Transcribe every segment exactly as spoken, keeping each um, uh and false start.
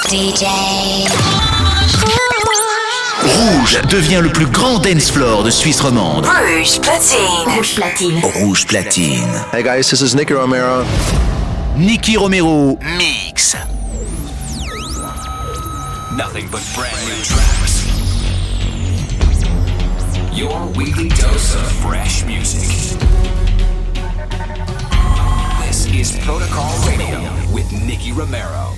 D J. Rouge devient le plus grand dance floor de Suisse romande. Rouge platine. Rouge platine. Rouge platine. Hey guys, this is Nicky Romero. Nicky Romero mix. Nothing but brand new tracks. Your weekly dose of fresh music. This is Protocol Radio with Nicky Romero.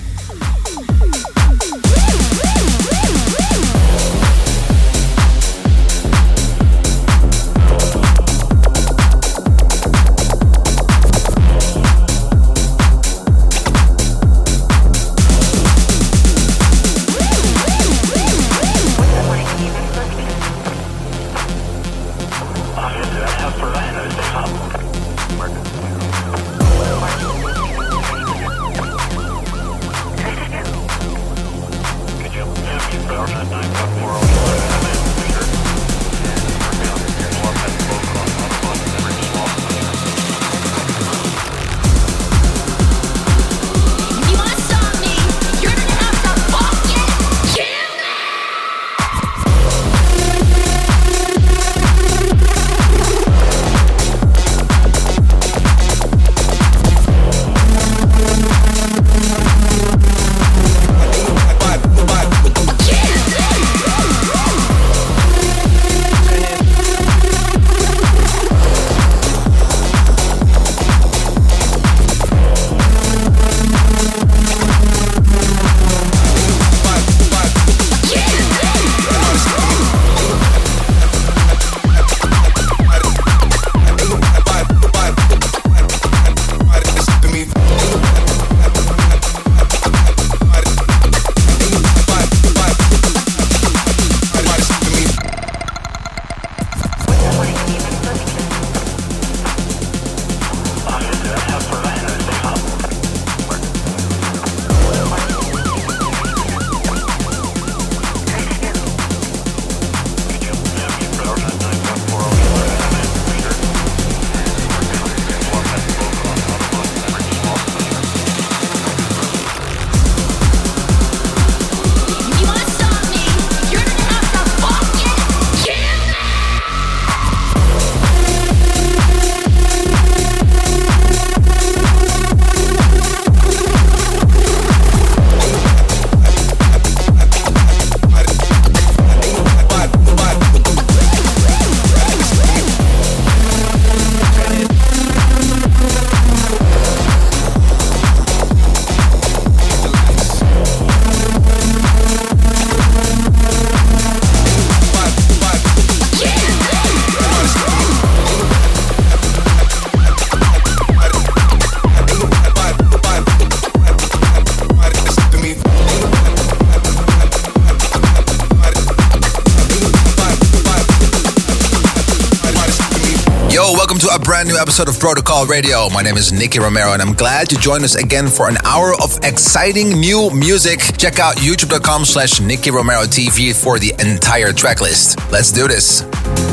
A brand new episode of Protocol Radio. My name is Nicky Romero and I'm glad to join us again for an hour of exciting new music. Check out youtube.com slash Nicky Romero TV for the entire track list. Let's do this.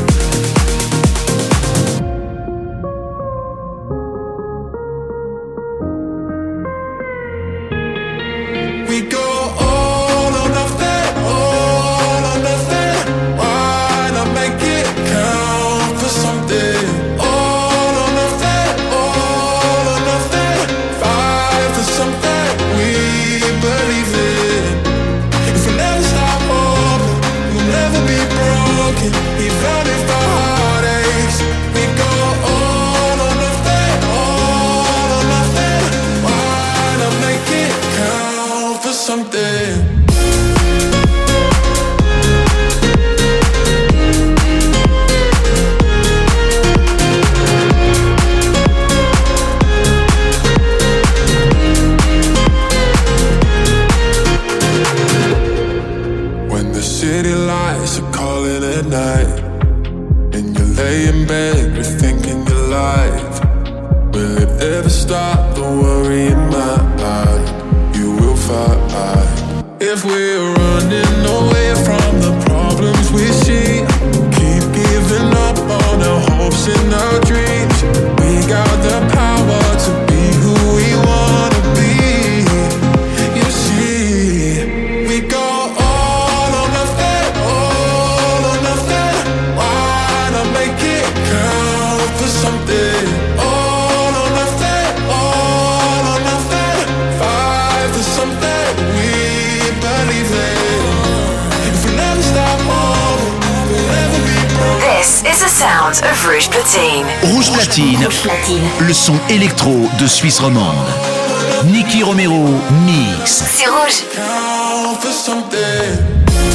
If we're running away from the problems we see, keep giving up on our hopes and our dreams. We got the power to be who we wanna be. You see, sounds of Rouge Platine. Rouge Platine, Rouge Platine. le son électro de Suisse romande. Nicky Romero mix. C'est Rouge. Count for something.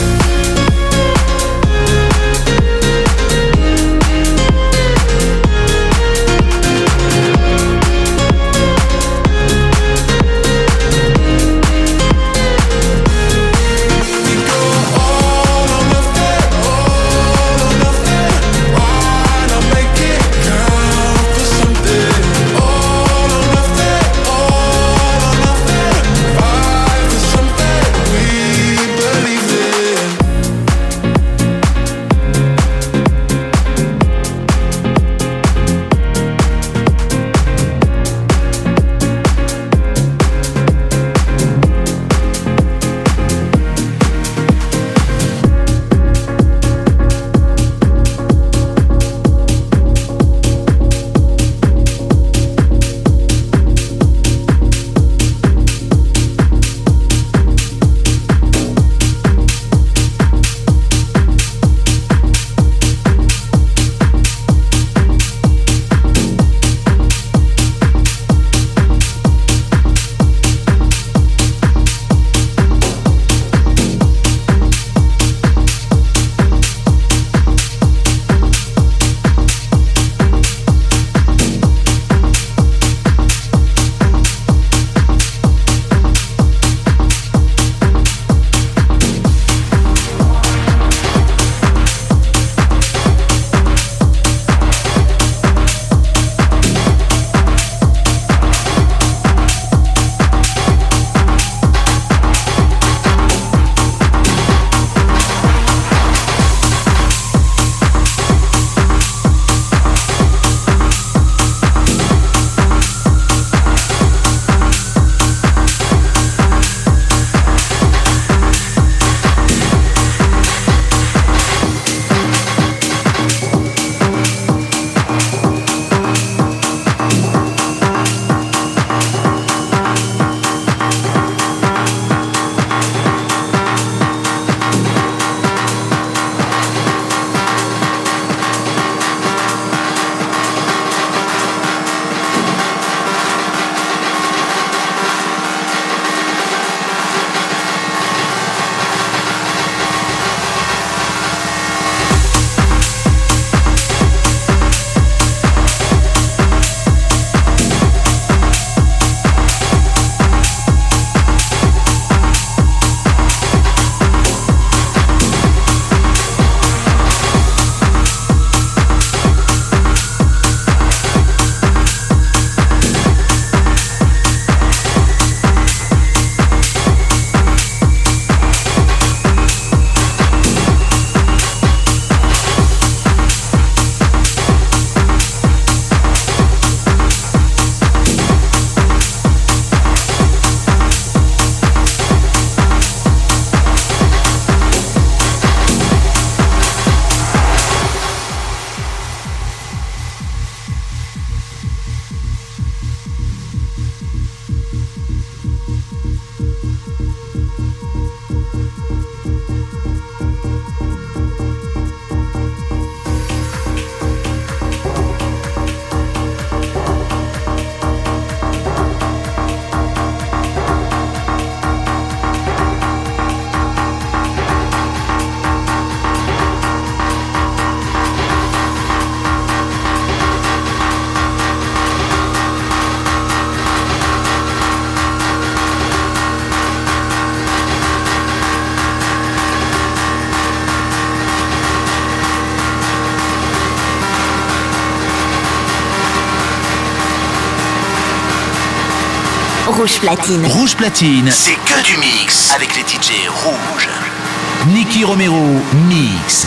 Rouge Platine. Rouge Platine, C'est que du mix avec les D J rouges. Nicky Romero mix.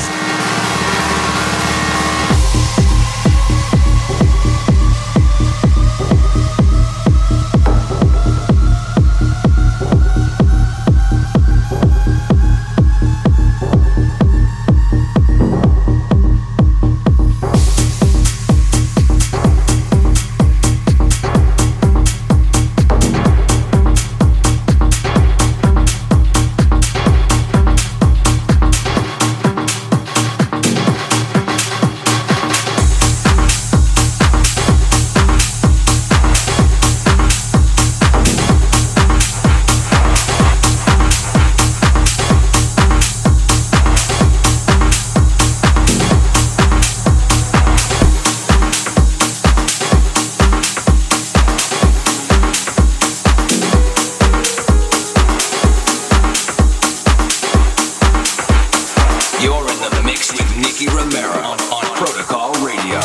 Nicky Romero on, on Protocol Radio.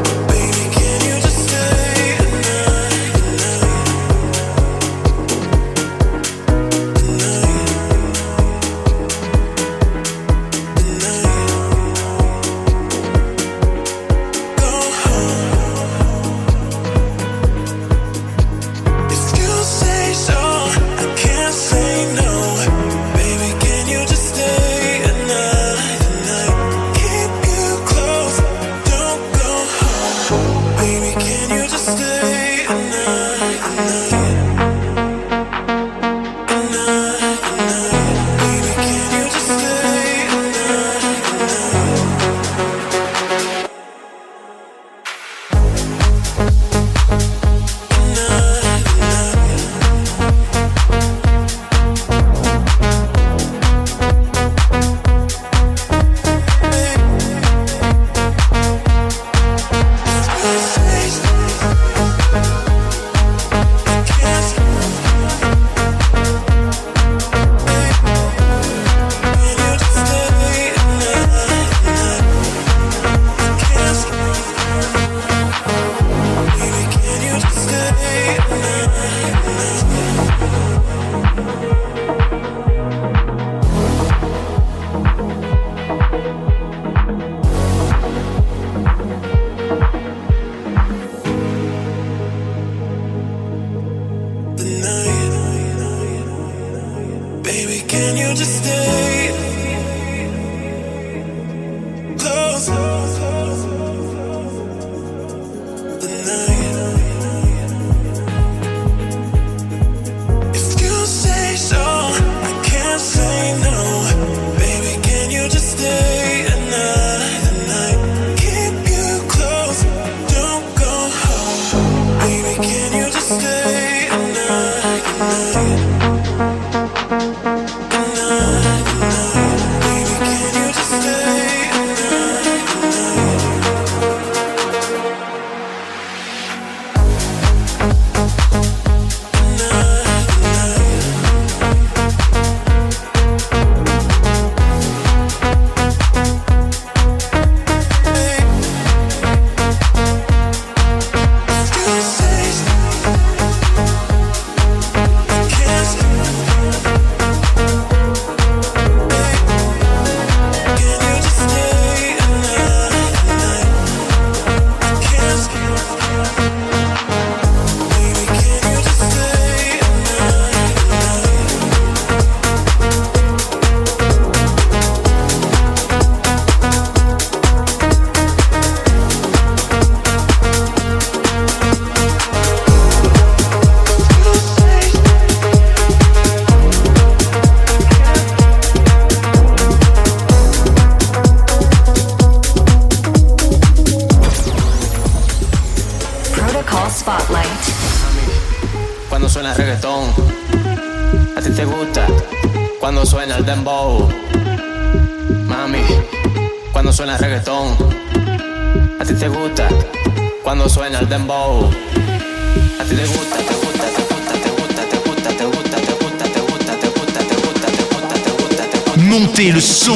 Montez le son.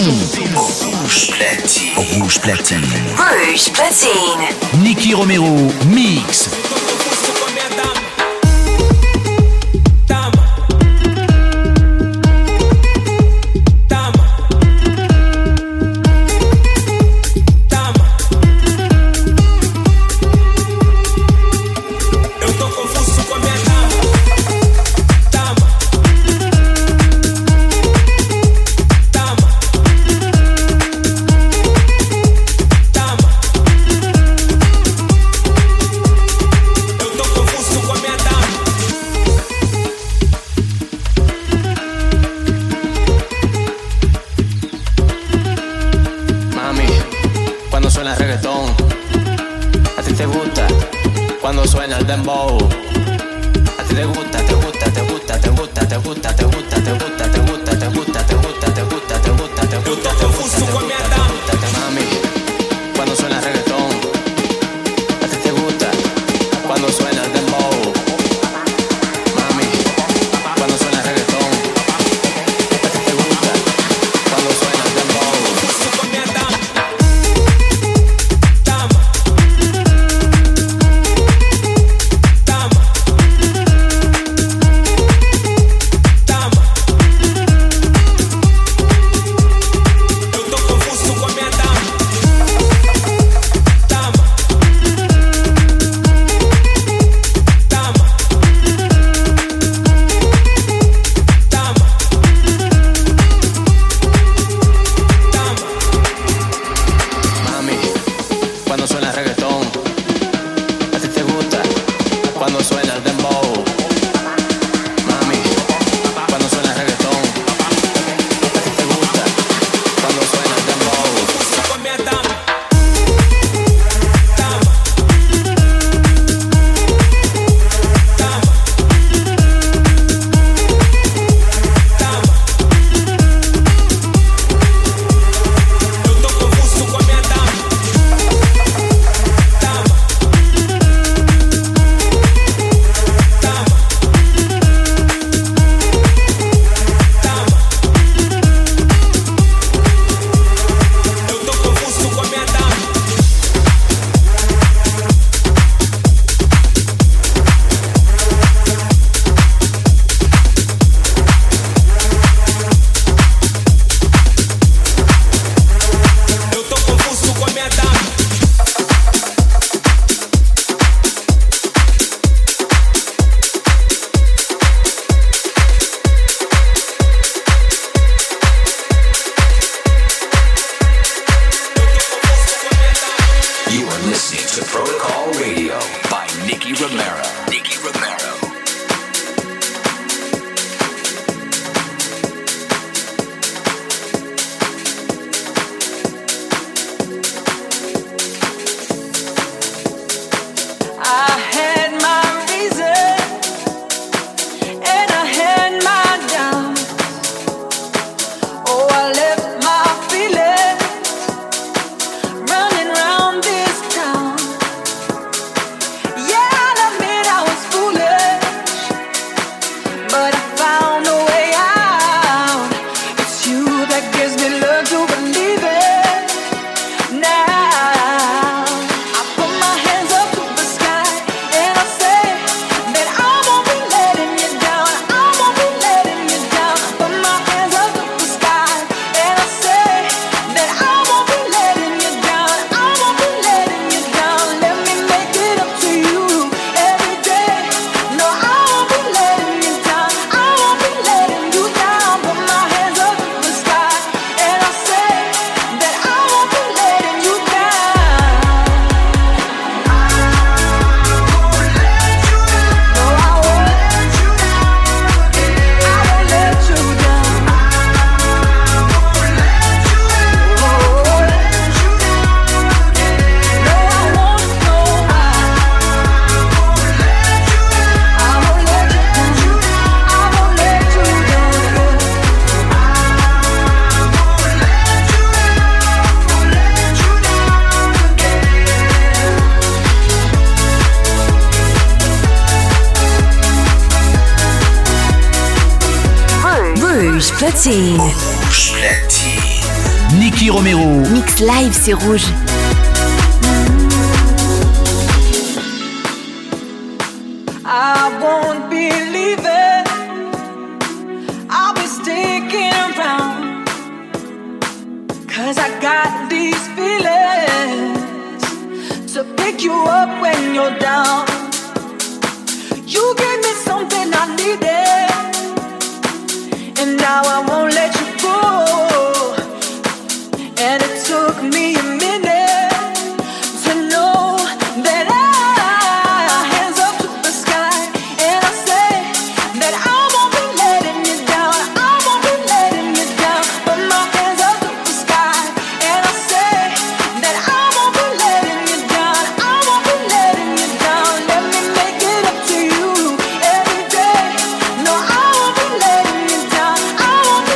Rouge platine. Rouge platine. Rouge platine. Nicky Romero mix. Eu Platine. Rouge Platine. Nicky Romero. Mix live, c'est Rouge. I won't be leaving. I'll be sticking around. Cause I got these feelings to pick you up when you're down. You gave me something I needed, and now I won't let you go. And it took me a minute to know that I, hands up to the sky, and I say that I won't be letting you down, I won't be letting you down. But my hands up to the sky, and I say that I won't be letting you down, I won't be letting you down. Let me make it up to you every day. No, I won't be letting you down, I won't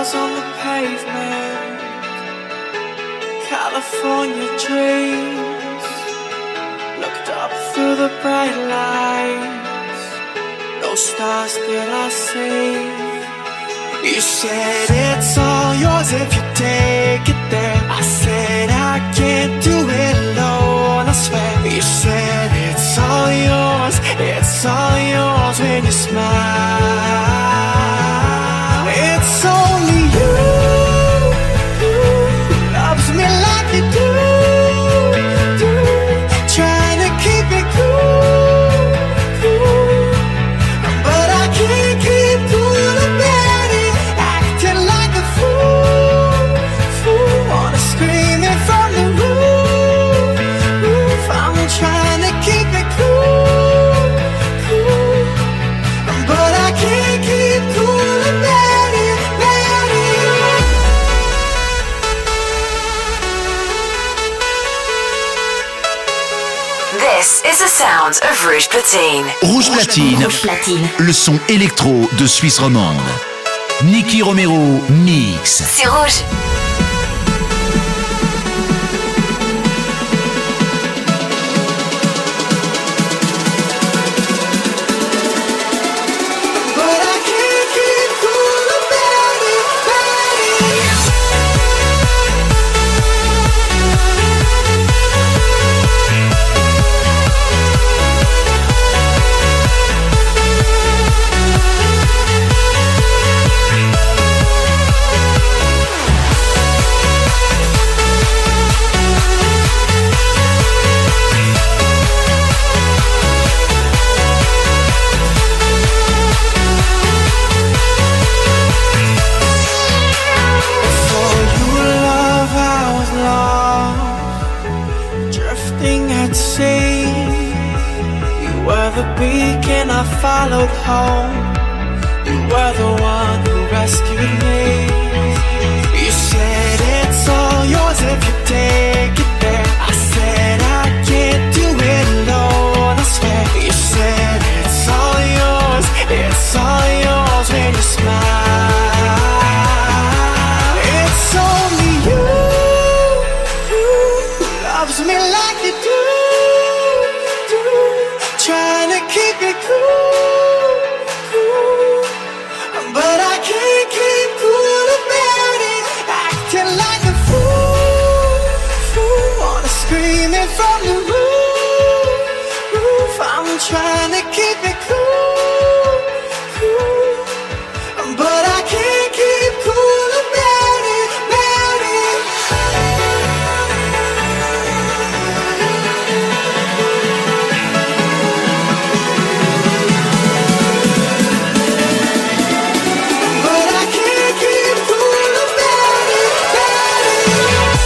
stars on the pavement, California dreams. Looked up through the bright lights, no stars did I see. You said it's all yours if you take it there. I said I can't do it alone, I swear. You said it's all yours, it's all yours when you smile. It's only you who loves me like you do, do. Trying to keep it cool, cool. But I can't keep cool about it. Acting like a fool, fool. Wanna scream it from the roof, roof. I'm trying to keep it cool, cool. But I can't keep cool about it, about it. This is the sound of Rouge Platine. Rouge Platine, Rouge Platine. le son électro de Suisse romande. Nicky Romero mix. C'est Rouge. But I can't keep cool about it, about it. For you, love, I was lost, drifting at sea. You were the beacon I followed home. You were the one who rescued me. You said it's all yours if you take it there. I said I can't do it alone, I swear. You said it's all yours, it's all yours when you smile. It's only you who loves me like you do, do. Trying to keep it cool, cool. But I can't keep cool about it. Acting like a fool, fool. Wanna scream it from the roof, roof. I'm trying to keep it cool, cool. But I can't keep cool about it, about it. But I can't keep cool about it, about it.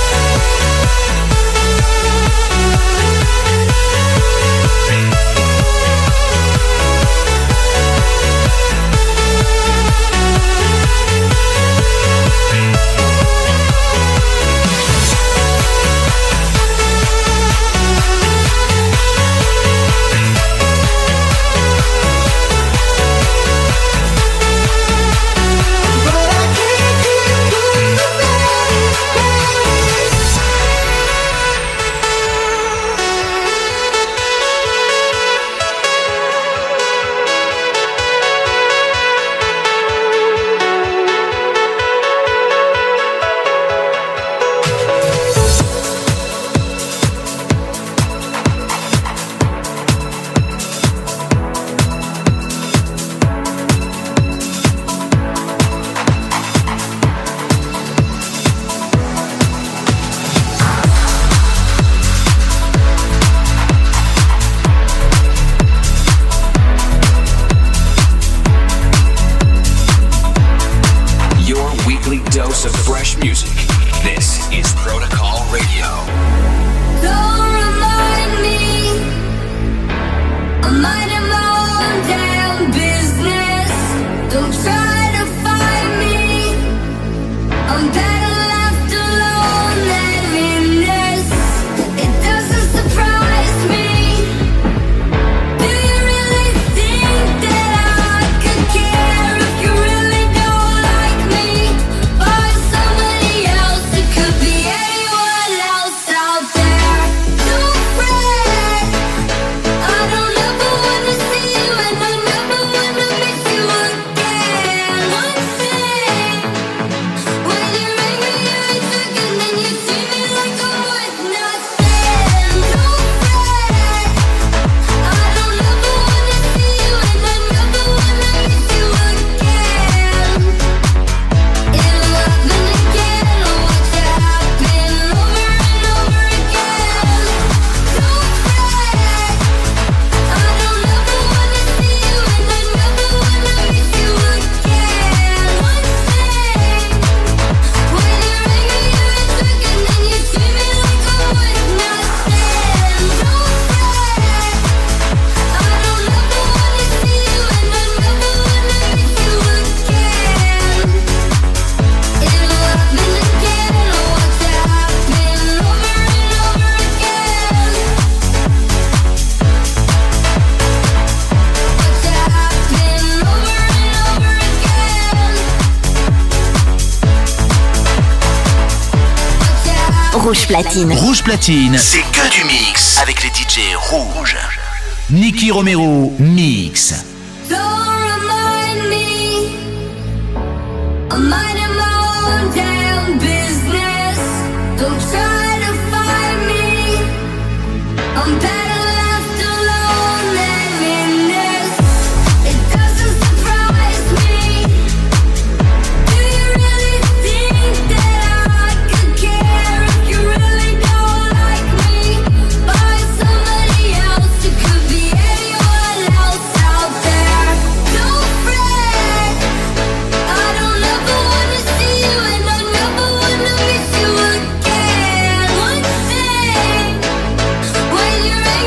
Rouge Platine. Rouge Platine, C'est que du mix avec les D J rouges. Nicky Romero Mix. Don't remind me, I'm minding my own damn business. Don't try to find me, I'm better left alone than in this. It doesn't surprise me. Do you really think that I could care if you really don't like me? Find somebody else, it could be anyone else out there. Don't fret, I don't ever wanna see you and I never wanna miss you again. One thing, when you're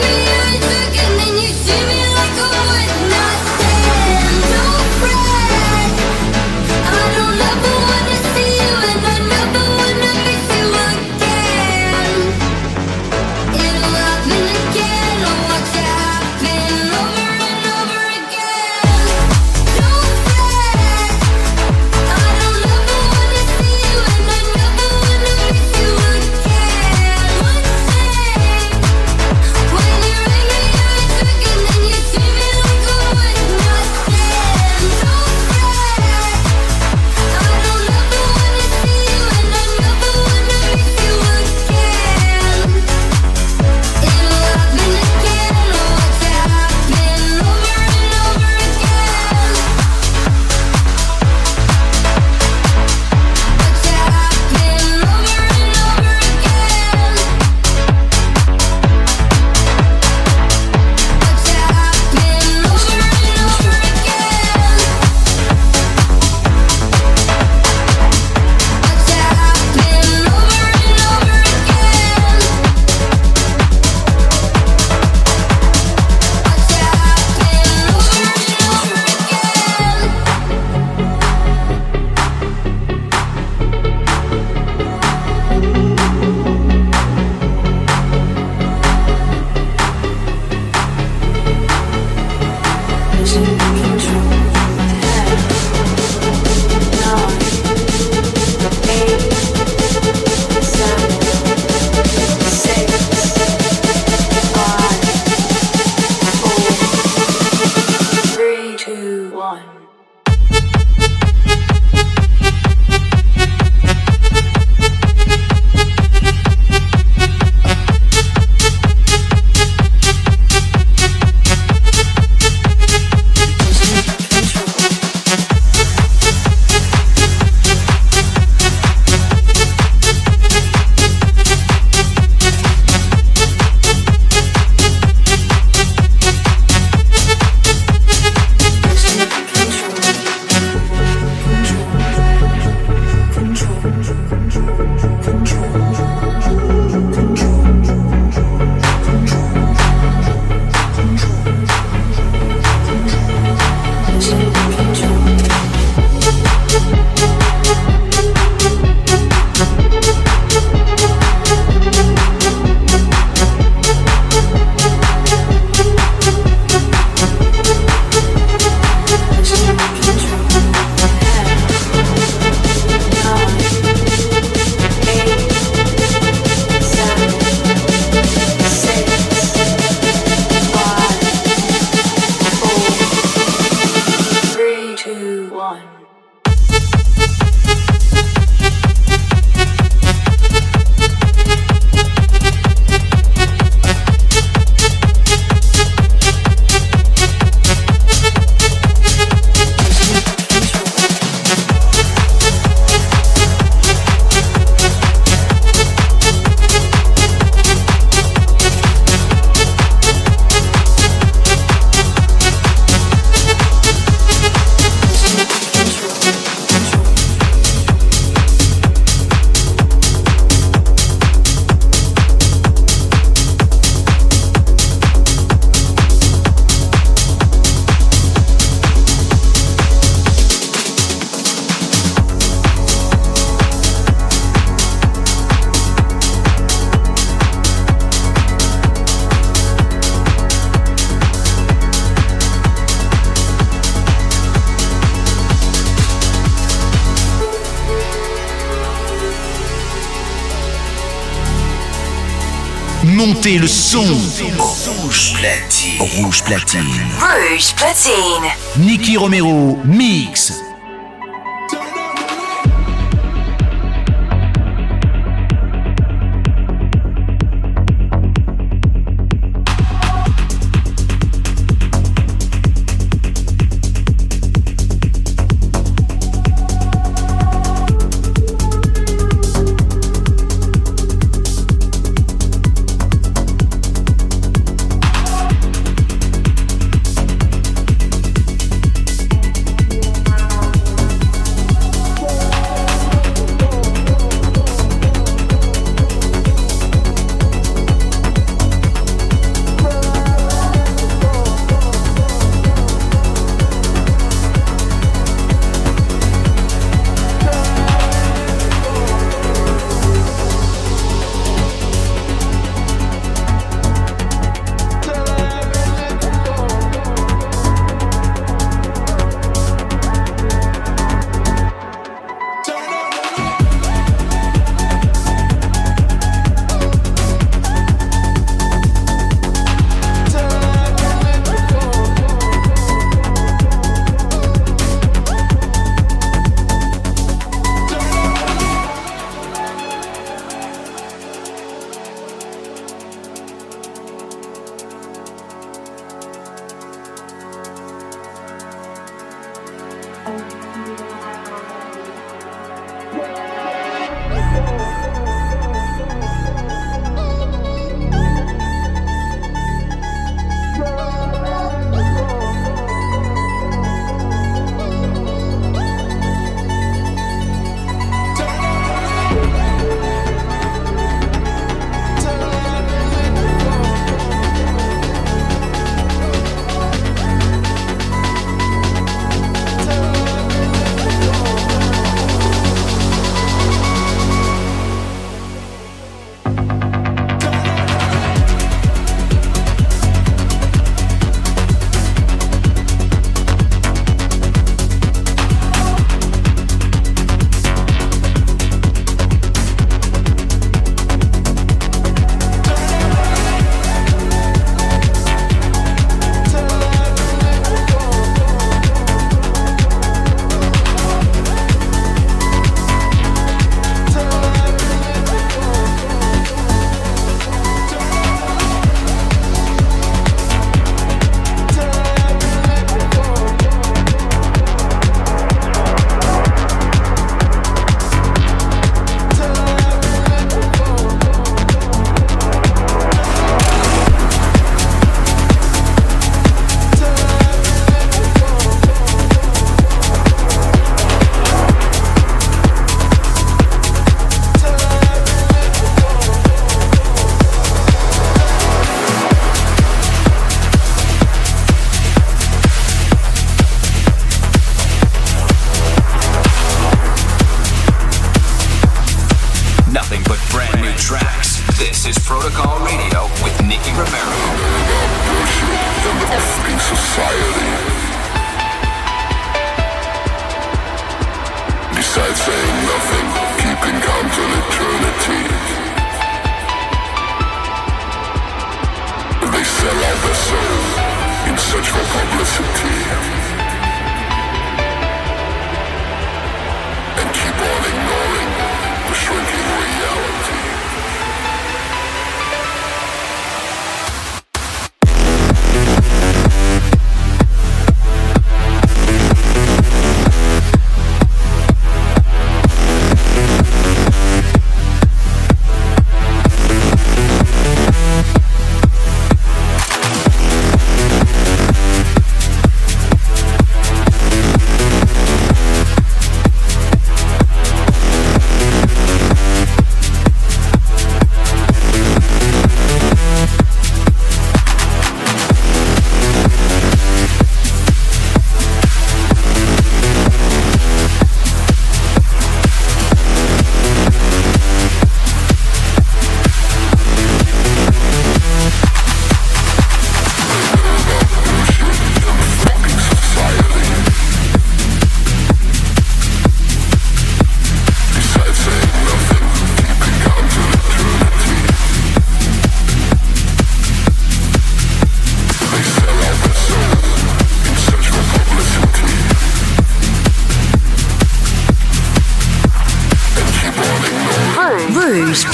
montez le son. Rouge platine. Rouge platine. Rouge platine. Nicky Romero mix.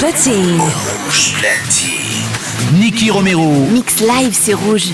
Platine. Rouge Platine. Nicky Romero. Mix live, c'est Rouge.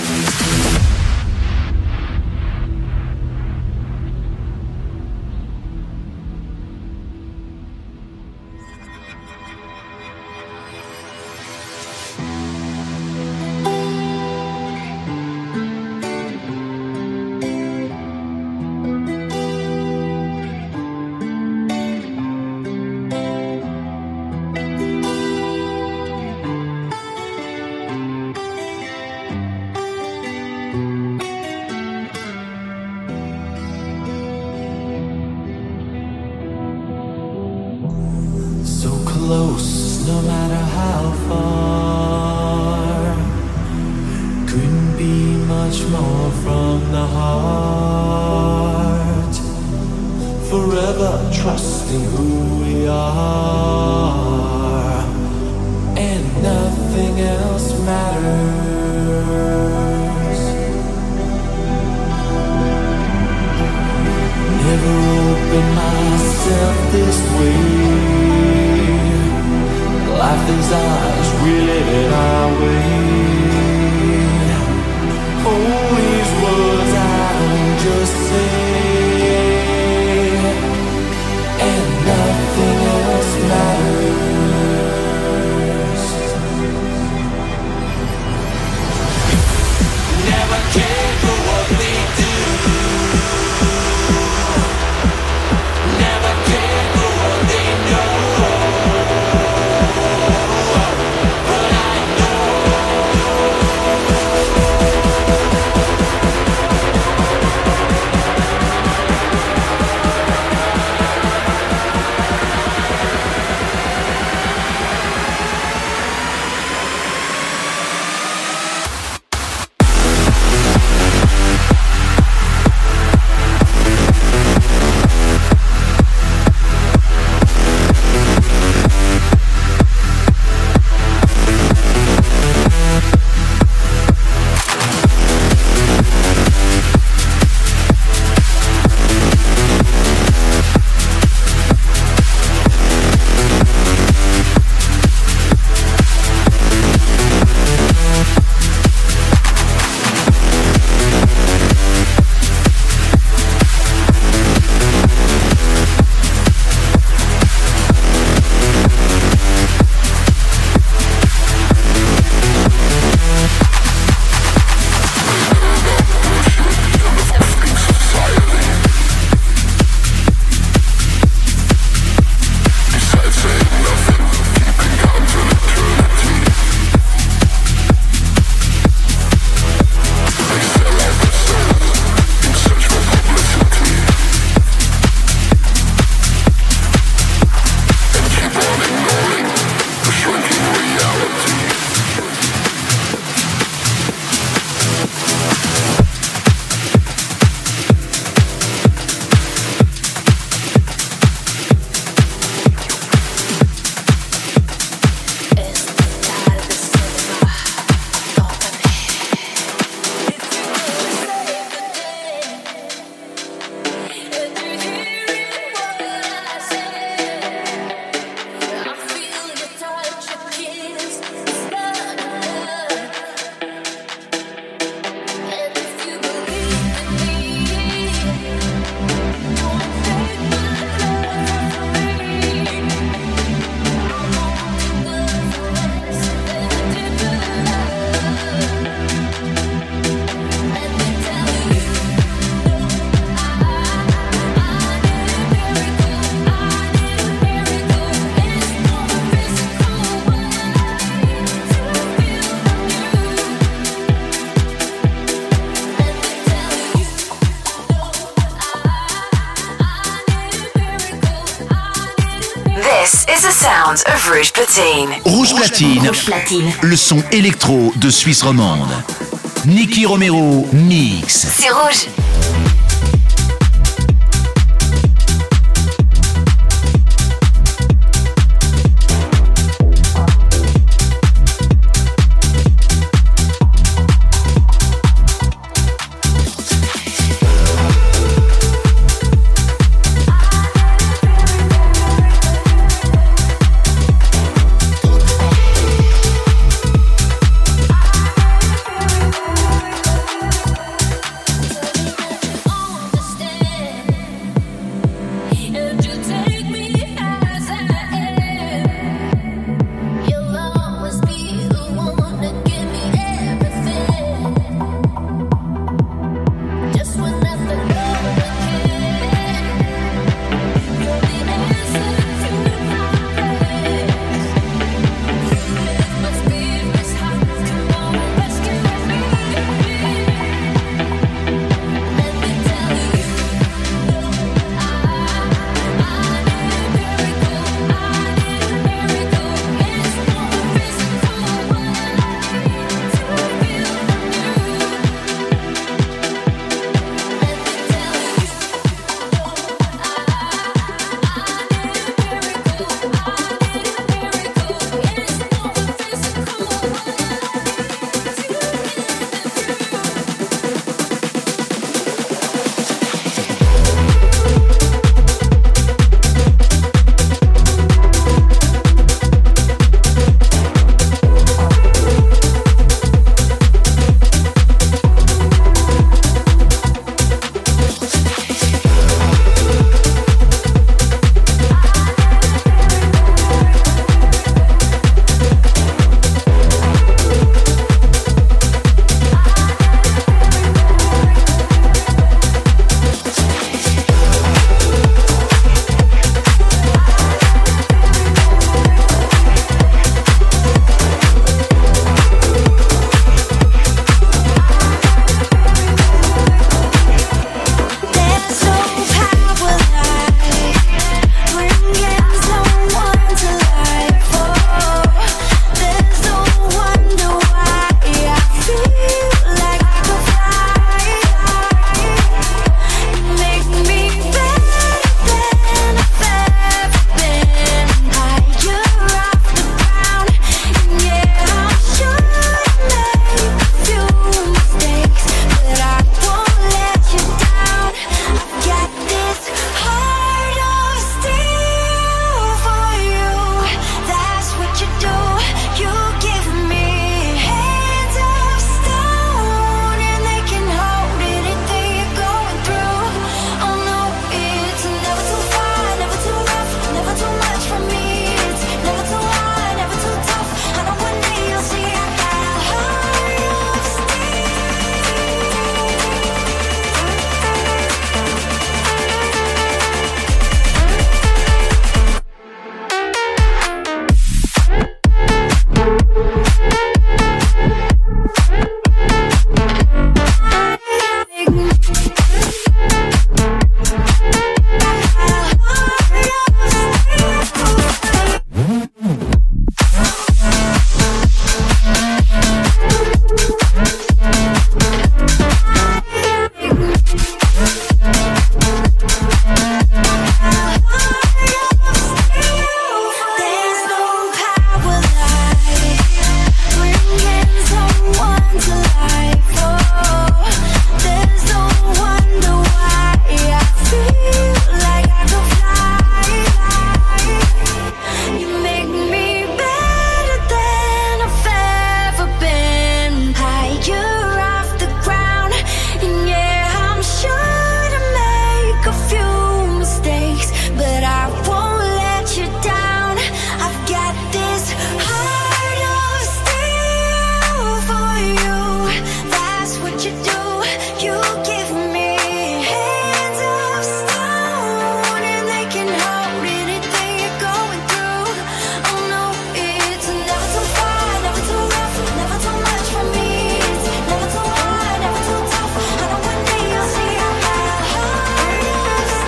sounds of Rouge Platine. Rouge Platine. Rouge Platine. Le son électro de Suisse romande. Nicky Romero mix. C'est Rouge.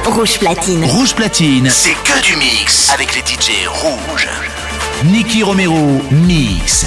Rouge Platine. Rouge Platine, c'est que du mix avec les D J rouges. Nicky Romero mix.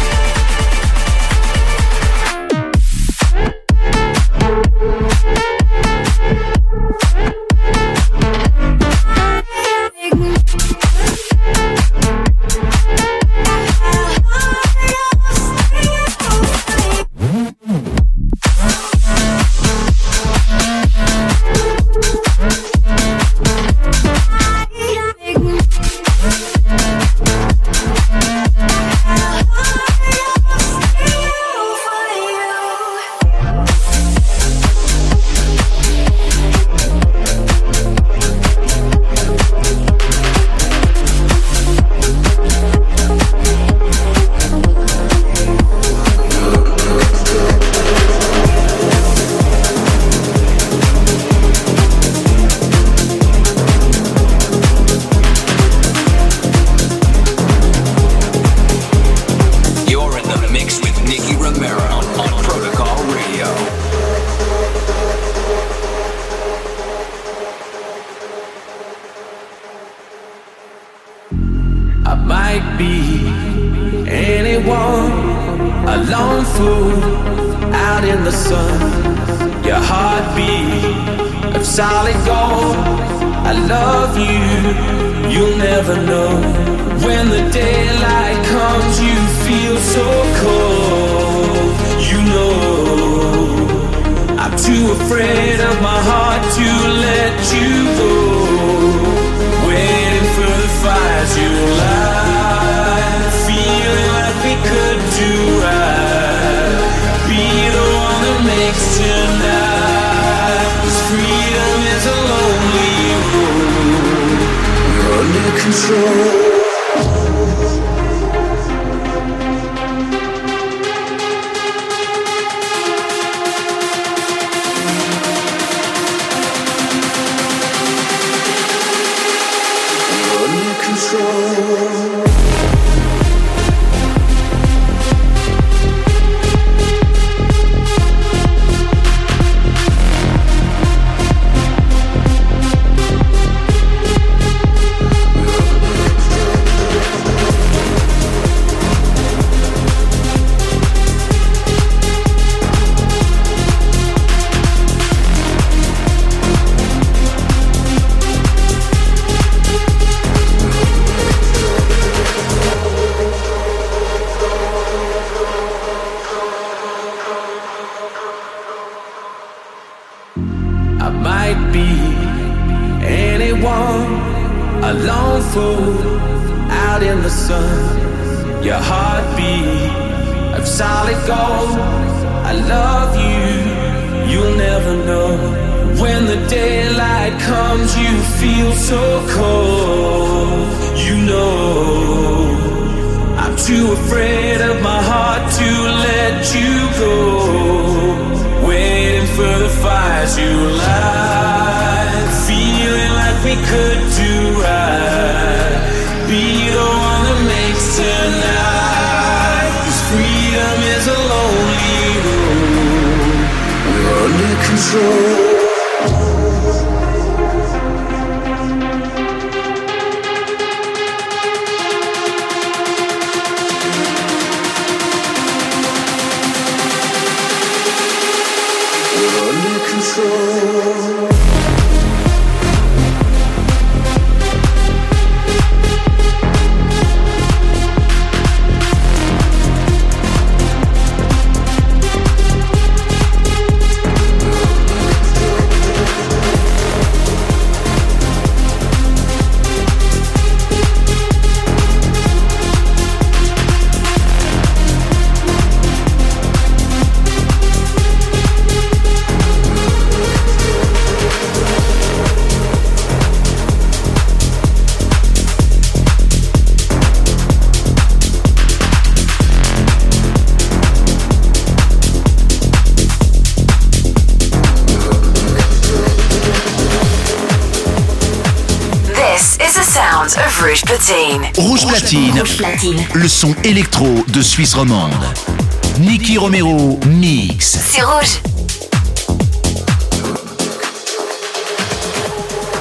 Rouge Platine. Rouge Platine. Rouge Platine. Le son électro de Suisse romande. Nicky Romero mix. C'est rouge.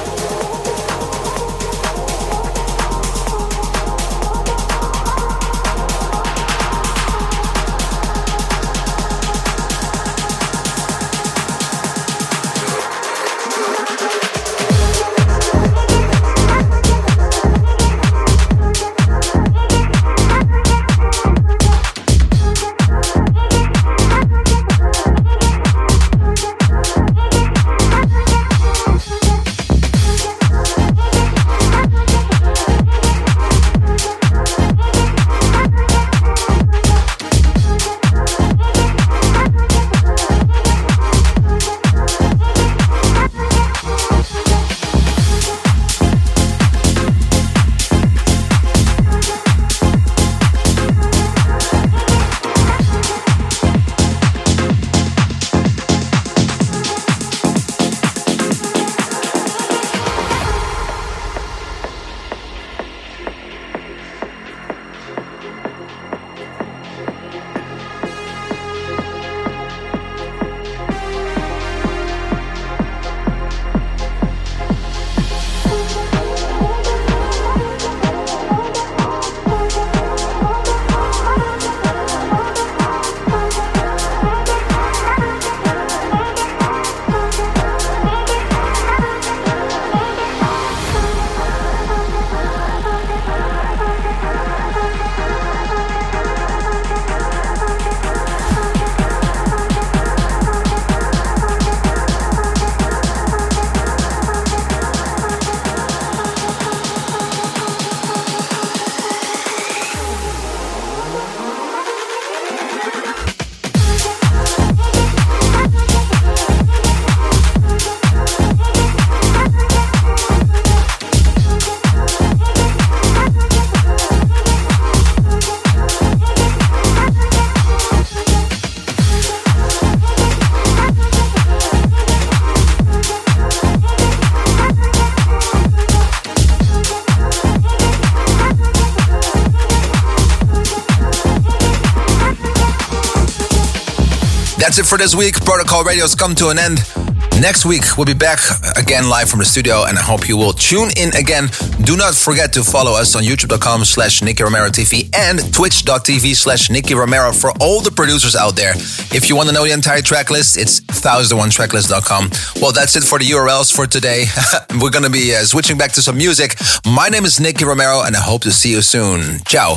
That's it for this week. Protocol Radio's come to an end. Next week, we'll be back again live from the studio, and I hope you will tune in again. Do not forget to follow us on youtube.com slash Nicky Romero TV and twitch.tv slash Nicky Romero for all the producers out there. If you want to know the entire track list, it's one thousand one tracklist dot com. Well, that's it for the U R Ls for today. We're going to be uh, switching back to some music. My name is Nicky Romero, and I hope to see you soon. Ciao.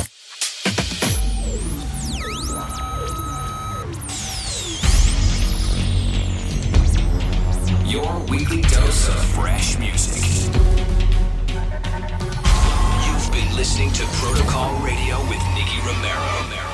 Your weekly dose of fresh music. You've been listening to Protocol Radio with Nicky Romero.